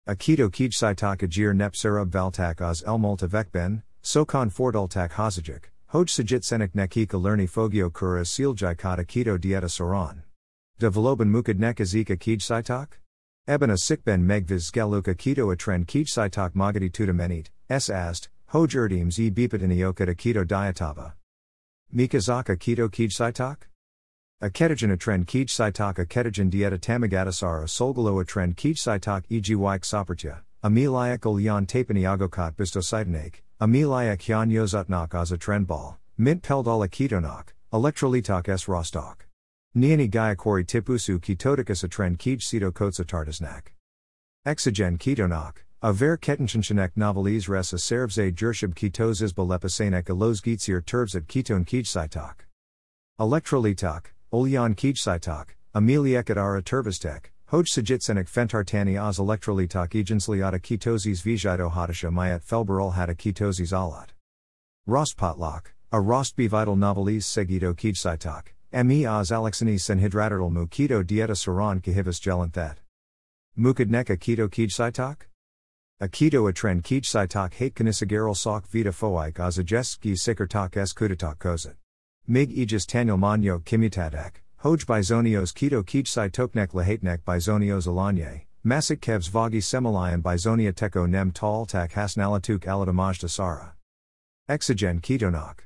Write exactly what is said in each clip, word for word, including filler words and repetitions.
Akito kijsaitak ajir nep serub valtak az el multivekben, sokon fordultak hozajik, hoj sajit senik nekika lerni fogio kura siljaikat akito dieta soran. De valoban mukad nek azika kijsaitak? Eben a sikben megviz geluk akito atren kijsaitak magadi tutamenit, s ast, hoj erdims e bepatiniokat akito diatava. Mikazaka akito kijsaitak? A ketogen atren kijsaitak a ketogen dieta tamagatasara solgalo atren kijsaitak egyik sopertya, ameliak olyan tapani agokot bistositanek, ameliak hyan yozutnak az atren bal, mint peldal akitonak, electrolitak s rostok. Niani gayakori tipusu ketoticus atren kij sito kotsatartasnak. Exogen ketonak, a ver ketenchanshanek novelis res a servze jershib ketos isba lepasanek alos gitsir turbzat keton kijsaitak. Electrolitak, olyan kijsaitak, ameliak at ara turvistek, hoj sajitsenek fentartani az electrolitak ejensliata ketozis vijito hadasha mayat felbarol hata ketozis alat. Rostpotlak, a rostbevital novelis segito kijsaitak, me az alexani senhidratatal mu keto dieta saran kahivas gelanthet. Mukadnek a keto kijsaitak? A keto atren kijsaitak hate kanisigaral sok vita foik az ajeski sikertak s kudatak kozit. Mig aegis tanyal manyo kimutatak, hoj bizonios keto kijsaitoknek lahatnek bizonios alanye, masik kevs vagi semalayan bizonia teko nem tal tak hasnalatuk alatamaj dasara. Exogen ketonak.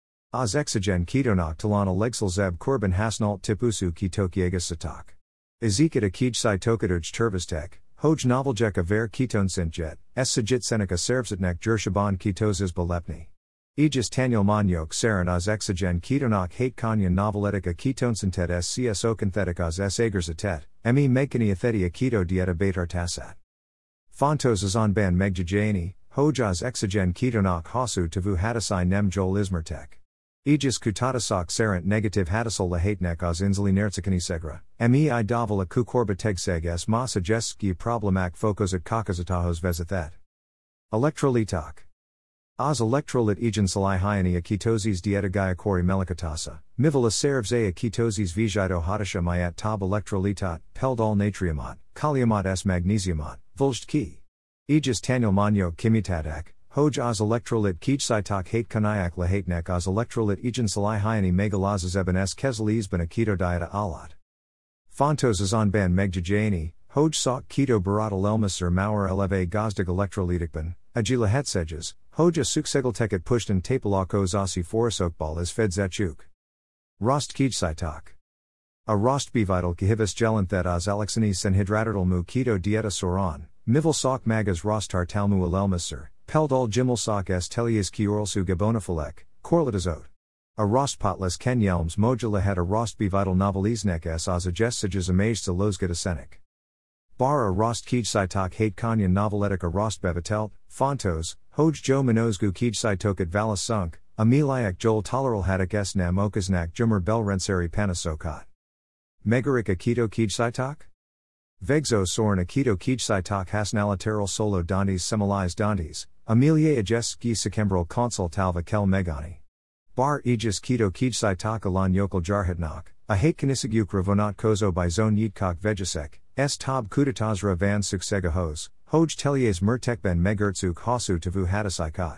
Az exogen ketonak talan alegsal zeb korban hasnalt tipusu ketokiegas satak. Izikat a kijsaitokaduj turvistek, hoj noveljek a ver keton sintjet, s sajit seneca servsatnek jershaban ketoses balepni. Aegis tanyal manyok saran az exogen ketonak hate kanyan noveletic a ketonsintet s cso synthetic az s agerzatet, me megkani atheti a keto dieta betartasat. Fontos azon ban megjajani, hoj az exogen ketonak hasu tavu hadasai nem jol ismertek. Aegis kutatasak sarant negative hadasol lahatnek az insulinertsikani segra, me I daval a kukorba tegseg s ma suggestski problemak fokos at kakazatahos vezathet. Electrolitak. Az electrolit egensalai hyani a ketosis dieta gayakori melikatasa, mival a servze a ketosis vijito hadasha mayat tab electrolitat, peldal natriumat, kaliumat s magnesiumat, vuljd ki. Aegis tanyal manyo kimutatak, hoj az electrolit kijsaitak hate kanayak lahatnek az electrolit egensalai hyani megalaz eben s kezalis ben a keto dieta alat. Fontos azon ban megjajani, hoj sok keto baratal elmasur mauer eleve gazdig electrolitikban, agila hetseges, hoj a suksegelteket pushtan tapalakos asi forasokbal is fedzachuk. Rost kijsaitak. A rost bevital kahivas gelanthet az alexani senhidratatal mu keto dieta soran, mival sok magas rostar talmu alelmasur, peldal jimel sok s telias kioralsu gabonafalek, korlatazot. A rostpotlas kenyelms mojala had a rost bevital novelisnek s az ajessages amazed losgadasenik. Bar a rost kijsaitak hate kanyan noveletic a rost bevatelt, fontos, hoj jo minozgu kijsaitokat valas sunk, ameliak jol toleral hadak s nam okaznak jumur belrenseri panasokot. Megarik a keto kijsaitak? Vegzo soren a keto kijsaitak hasnalateral solo dantes semalize dantes, amelia ajeski sekembral consul talva kel megani. Bar aegis keto kijsaitak alan yokal jarhatnak, a hate kanisaguk ravonat kozo by zone yitkok vejasek, s tab kudatazra van suksegahos, hoj telies mertekben megertzuk hasu tavu hadasaikat.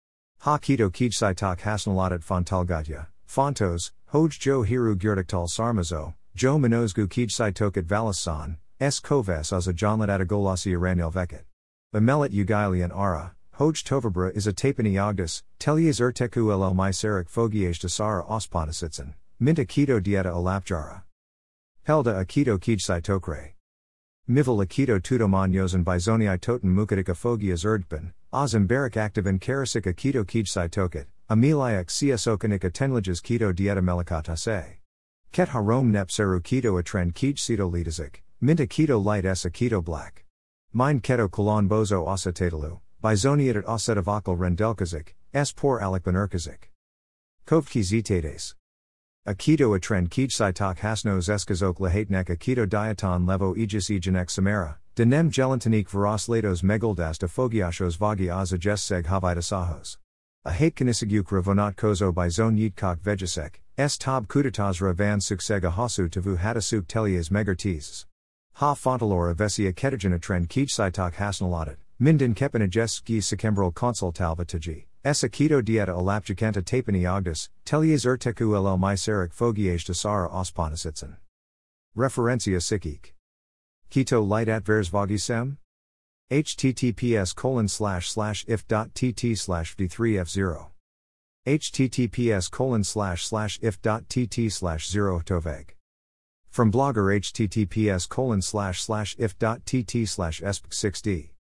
Ha keto kijsaitak hasnalatat fontalgatya, fontos, hoj jo hiru gyurtiktal sarmazo, jo minozgu kijsaitokat valasan, s koves az a jonlat atagolasi iranil veket. Amelit ugilian ara, hoj tovabra is a tapani ogdus, telies erteku ll myserik fogiage dasara osponasitsen, minta keto dieta alapjara. Helda a keto kijsaitokre. Mival a keto tudomanyos and bizonii toten mukadik fogias erdben, az embarik activan karasik a keto kijsaitokat, ameliak csokanik a tenlages keto dieta melikatase. Ket harom nep seru keto atren kijsito litazik, minta keto light s a keto black. Mine keto kolon bozo osatatalu, bizoniatat osetavakal rendelkazik, s por alikban erkazik. Kovki zitates. A keto atren kijsaitak hasnos eskazok lahatnek a keto diaton levo aegis egenek samara, denem gelantanik veros latos megaldast a fogiashos vagi az ajeseg havitasahos. A hate kanisaguk ravonat kozo by zone yitkok vejasek, s tab kudatazra van suksega hasu tavu hadasuk telias megartes. Ha fontalor avesia ketogena trend kij sitok hasnaladet, minden kepinajes ski sekembral consultalvataji, essa keto dieta alapjacanta tapani ogdus, telias urteku ll myserik fogiage desara osponasitsen. Referencia sikik. Keto light at versvagisem? https colon slash slash if.tt slash v3f0. https colon slash slash if.tt slash 0 toveg. From blogger https colon slash slash if.tt slash esp6d.